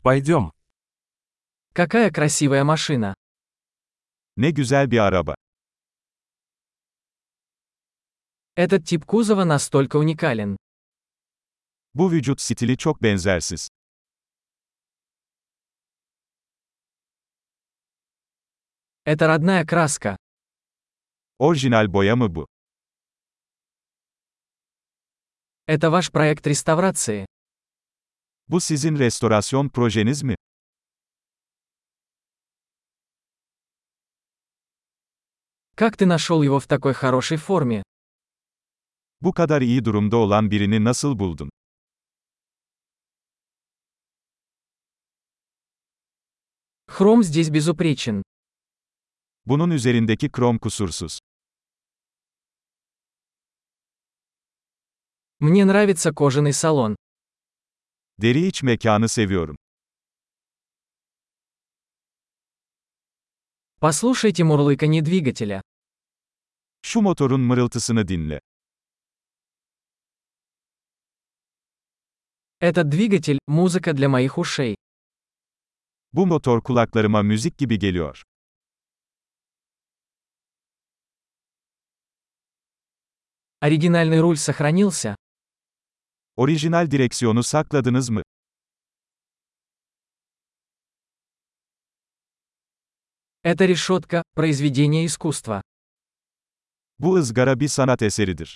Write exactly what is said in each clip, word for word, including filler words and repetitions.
Пойдем. Какая красивая машина. Ne güzel bir araba. Этот тип кузова настолько уникален. Bu vücut stili çok benzersiz. Это родная краска. Orijinal boya mı bu? Это ваш проект реставрации. Bu sizin restorasyon projeniz mi? Как ты нашел его в такой хорошей форме? Bu kadar iyi durumda olan birini nasıl buldun? Хром здесь безупречен. Bunun üzerindeki krom kusursuz. Мне нравится кожаный салон. Deri iç mekanı seviyorum. Послушайте мурлыканье двигателя. Şu motorun mırıltısını dinle. Этот двигатель – музыка для моих ушей. Bu motor kulaklarıma müzik gibi geliyor. Оригинальный руль сохранился. Orijinal direksiyonu sakladınız mı? Эта решетка – произведение искусства. Bu ızgara bir sanat eseridir.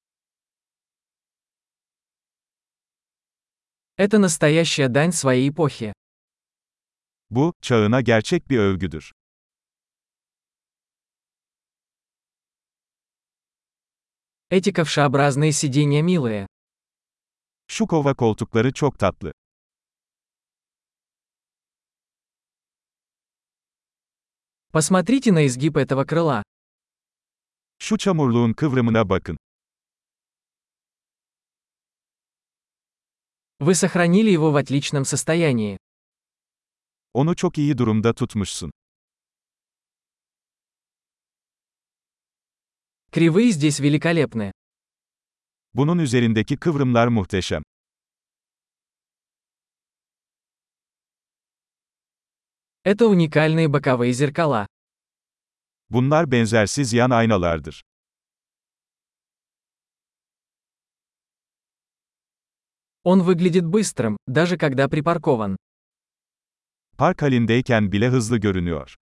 Это настоящая дань своей эпохи. Bu, çağına gerçek bir övgüdür. Эти ковшеобразные сиденья милые. Şu kova koltukları çok tatlı. Посмотрите на изгиб этого крыла. Şu çamurluğun kıvrımına bakın. Вы сохранили его в отличном состоянии. Onu çok iyi durumda tutmuşsun. Кривые здесь великолепны. Bunun üzerindeki kıvrımlar muhteşem. Это уникальные боковые зеркала. Bunlar benzersiz yan aynalardır. Он выглядит быстрым, даже когда припаркован. Park halindeyken bile hızlı görünüyor.